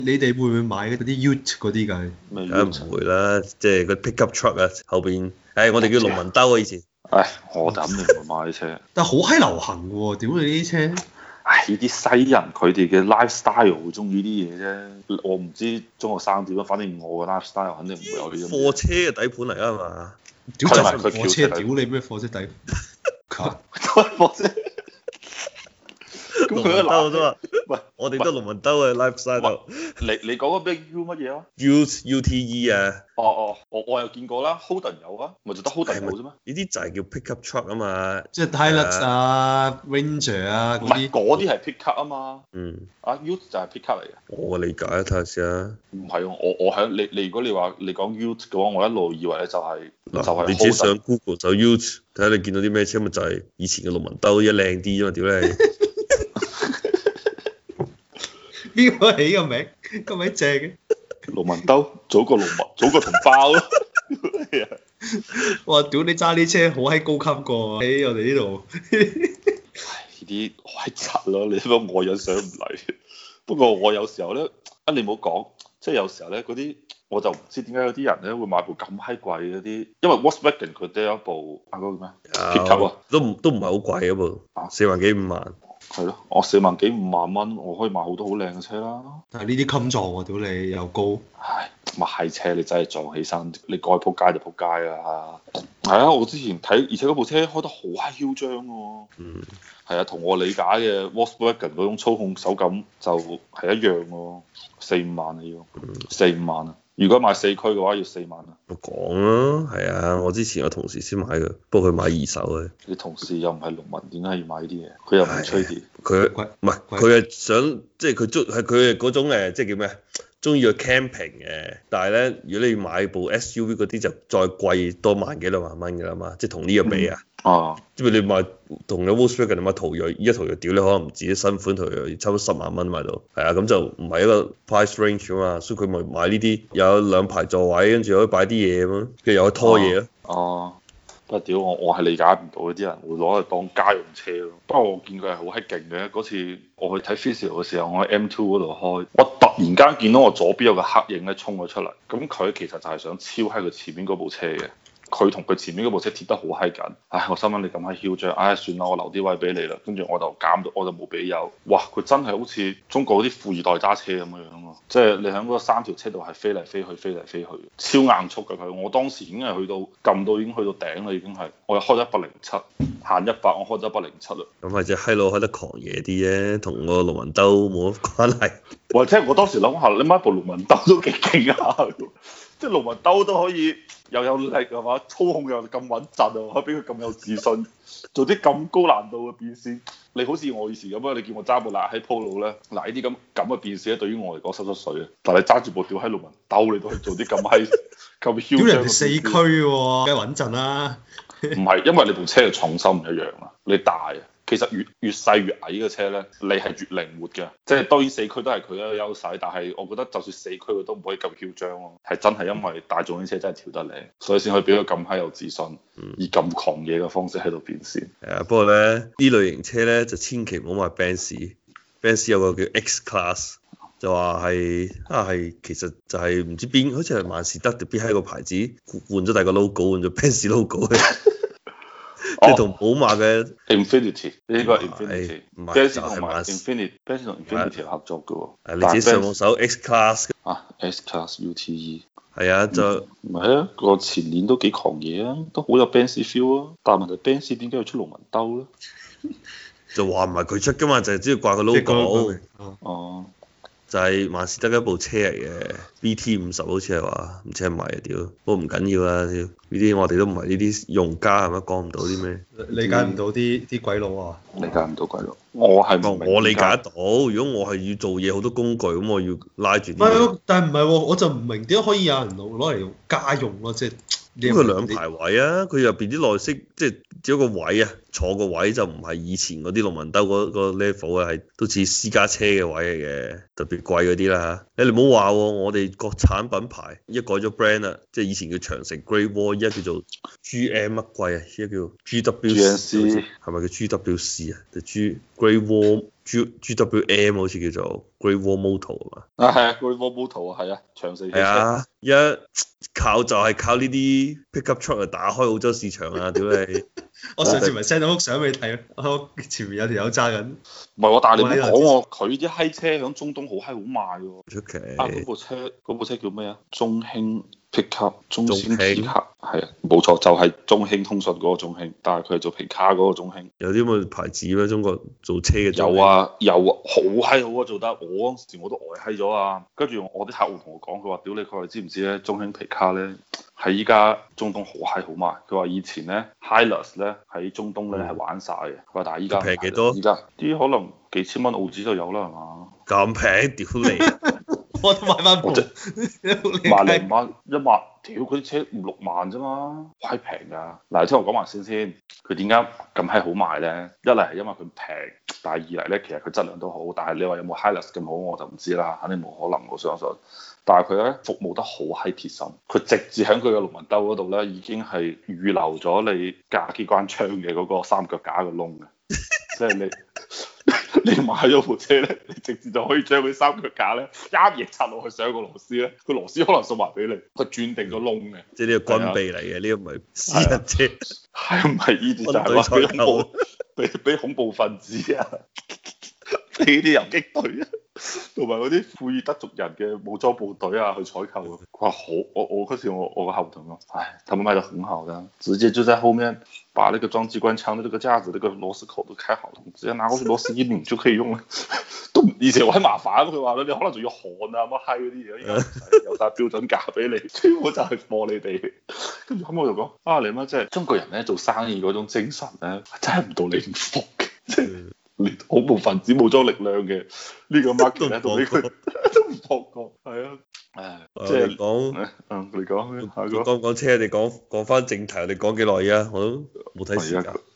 你哋會唔會買嗰啲 Ute 嗰啲㗎？ 梗係唔會啦，即係個 pickup truck 啊，後邊，我哋叫農民兜啊以前。 唉，我就肯定唔會買車。 但係好閪流行喎，屌你啲車！ 唉，呢啲西人佢哋嘅 lifestyle 會中意啲嘢啫。我唔知中學生點樣，反正我嘅 lifestyle 肯定唔會有呢種。 貨車嘅底盤嚟啊嘛， 屌就係佢貨車，屌你咩貨車底？ 貨車。咁佢都兜啫嘛， 喂， 我哋都農民兜嘅 lifestyle。 你講個咩 U 乜嘢啊 UTE 啊， 我有見過啦 ，Holden 有啊，咪就得 Holden 有啫咩？ 呢啲就係叫 pickup truck 啊嘛， 即係 Hilux 啊、Ranger 啊唔嗰啲。 係嗰啲係 pickup 啊嘛，啊 U 就係 pickup 嚟嘅。 我嘅理解睇下先啊。 唔係喎，我喺你如果你話你講 U 嘅話，我一路以為咧就係你自己上 Google 就 Ute 睇下你見到啲咩車，咪就係以前嘅農民兜，一靚啲啫嘛，屌你！ 邊個起個名咁鬼正嘅？ 農民兜，早過同胞咯。 哇！屌你揸啲車好閪高級過喺我哋呢度。 呢啲好閪柒咯，你都我欣賞唔嚟。不過我有時候咧，你唔好講，即係有時候咧嗰啲，我就唔知點解有啲人咧會買部咁閪貴嗰啲，因為 Volkswagen 佢都有一部嗰個咩 pickup 啊， 都唔係好貴嗰部，4萬幾5萬。 係咯，我4萬幾5萬蚊，我可以買好多好靚嘅車啦。 但係呢啲襟撞喎，屌你又高。 唉，咪係車你真係撞起身，你該撲街就撲街啦。係啊，我之前睇，而且嗰部車開得好閪囂張喎。係啊，同我理解嘅 Volkswagen 嗰種操控手感就係一樣喎，4、5萬啊要，4、5萬啊。如果買4驅嘅話要4萬啊。 我講啦，係啊，我之前有同事先買嘅，不過佢買二手嘅。 你同事又唔係農民，點解要買呢啲嘢？佢又唔係吹電。 佢唔係，佢係想即係佢係嗰種即係叫咩？中意去 camping 嘅，但係咧，如果你買部 SUV 嗰啲就再貴多1萬幾2萬蚊㗎啦嘛，即係同呢個比啊。即係你買同你 Volkswagen 你買途銳，依家途銳屌你可能唔止新款途銳，差唔多10萬蚊買到。係啊，咁就唔係一個 price range 啊嘛，所以佢咪買呢啲有2排座位，跟住可以擺啲嘢咁咯，跟住又可以拖嘢咯。 不過屌我係理解唔到啲人會攞嚟當家用車咯。不過我見佢係好閪勁嘅，嗰次我去睇 Physical 嘅時候，我喺 M2 嗰度開，我突然間見到我左邊有個黑影咧衝咗出嚟，咁佢其實就係想超喺佢前面嗰部車嘅。佢同佢前面嗰部車貼得好閪緊，唉！我心諗你咁閪囂張，唉算啦，我留啲位俾你啦。跟住我就減到，我就冇俾油。哇！佢真係好似中國嗰啲富二代揸車咁樣樣喎，即係你喺嗰3條車度係飛嚟飛去，飛嚟飛去，超硬速嘅佢。我當時已經係去到撳到已經去到頂啦，已經係我又開咗107，限100，我開咗107啦。 咁係隻閪佬開得狂野啲啫，同個農民兜冇乜關係。 或者我當時諗下，你買部農民兜都幾勁下，即係農民兜都可以又有力係嘛，操控又咁穩陣啊，可以俾佢咁有自信，做啲咁高難度嘅變線。你好似我以前咁啊，你叫我揸部喺 Polo 咧，嗱呢啲咁嘅變線咧，對於我嚟講濕濕碎啊。但係你揸住部屌喺農民兜，你都可以做啲咁閪咁囂張。 屌人哋4驅喎，梗係穩陣啦。 唔係，因為你部車嘅重心唔一樣啊，你大啊。其實越細越矮嘅車咧，你係越靈活嘅。即係當然4驅都係佢一個優勢，但係我覺得就算4驅佢都唔可以咁囂張咯。係真係因為大眾啲車真係調得靚，所以先可以俾佢咁閪有自信，以咁狂野嘅方式喺度變線。 不過咧呢類型車咧就千祈唔好買 Benz 有個叫 X Class， 就話係其實就係唔知邊，好似係萬事得定邊喺個牌子換咗第二個 logo， 換咗 Benz logo 即係同寶馬嘅 Infinity 呢個 Infinity，Benz 同埋 Infinity，Benz 同 Infinity 合作嘅喎。 你自己上網搜 X Class ，X Class UTE。 係啊，就唔係啊，個前臉都幾狂野啊，都好有 Benz feel 啊。但係問題 Benz 點解要出農民兜咧？ 就話唔係佢出㗎嘛，就係只要掛個 logo。就係萬事得一部車嚟嘅 BT50 好似係話，唔知係咪啊屌，不過唔緊要啊，呢啲我哋都唔係呢啲用家係咪講唔到啲咩？ 理解唔到啲鬼佬啊？ 理解唔到鬼佬，我理解得到。如果我係要做嘢好多工具，咁我要拉住。 但係唔係喎，我就唔明點解可以有人攞嚟用家用咯，即係。 因為2排位啊，佢入邊啲內飾即係只有個位啊，坐個位就唔係以前嗰啲農民兜嗰個 level 啊，係都似私家車嘅位嚟嘅，特別貴嗰啲啦嚇。你唔好話我哋國產品牌一改咗 brand 啦，即係以前叫長城 Great Wall，依家叫做 GM 乜貴啊？依家叫 GWC，係咪叫 GWC 啊？就 Great Wall GWM 好似叫做 Great Wall Motor 啊嘛。 啊係啊，嗰啲 Motor 啊係啊，長四汽車。 係啊，一靠就係靠呢啲 pickup truck 嚟打開澳洲市場啊！屌你， 我上次咪 send 咗幅相俾你睇咯，我前面有條友揸緊。 唔係喎，但係你唔好講喎，佢啲閪車響中東好閪好賣喎。 出奇。 啊！嗰部車叫咩啊？中興 pickup，中興中興 pickup 係啊，冇錯，就係中興通訊嗰個中興，但係佢係做皮卡嗰個中興。 有啲咁嘅牌子咩？中國做車嘅有啊有啊，好閪好啊做得，我嗰時我都呆閪咗啊！跟住我啲客戶同我講，佢話：屌你，佢話知唔知咧？中興皮卡咧喺依家中東好閪好賣。佢話以前咧 Hilux 咧喺中東咧係玩晒嘅。佢話但係依家平幾多？ 依家啲可能幾千蚊澳紙就有啦，係嘛？ 咁平，屌你！ 我都買翻部， 萬零蚊一萬，屌嗰啲車5、6萬啫嘛，閪平㗎。嗱，聽我講埋先，佢點解咁閪好賣咧？一嚟係因為佢平，但係二嚟咧其實佢質量都好，但係你話有冇 Hilux 咁好我就唔知啦，肯定冇可能我相信。但係佢咧服務得好閪貼心，佢直接喺佢嘅龍紋兜嗰度咧已經係預留咗你架機關槍嘅嗰個三腳架嘅窿嘅，即係你買咗部車咧，你直接就可以將佢三腳架咧一嘢插落去上個螺絲咧，個螺絲可能送埋俾你，佢轉定個窿嘅。 即係呢個軍備嚟嘅，呢個唔係私人車。 係唔係呢啲就係話俾恐怖俾恐怖分子啊，俾啲遊擊隊啊，同埋嗰啲庫爾德族人嘅武裝部隊啊去採購啊。佢話好，我嗰時我個客戶同我講，唉，他們賣得很好的，直接就在後面把那個裝機關槍的這個架子，那個螺絲口都開好了，直接拿過去螺絲一擰就可以用啦。都以前我喺麻煩，佢話你可能仲要焊啊乜閪嗰啲嘢，而家唔使有晒標準架俾你，全部就係貨你哋。跟住後尾我就講啊，你媽即係中國人咧做生意嗰種精神咧，真係唔到你唔服嘅，即係連恐怖分子武裝力量嘅呢個 market 咧都俾佢都唔放過，係啊。誒，即係講， 你講咩？ 講車，你講翻正題，你講幾耐啊？我都冇睇時間。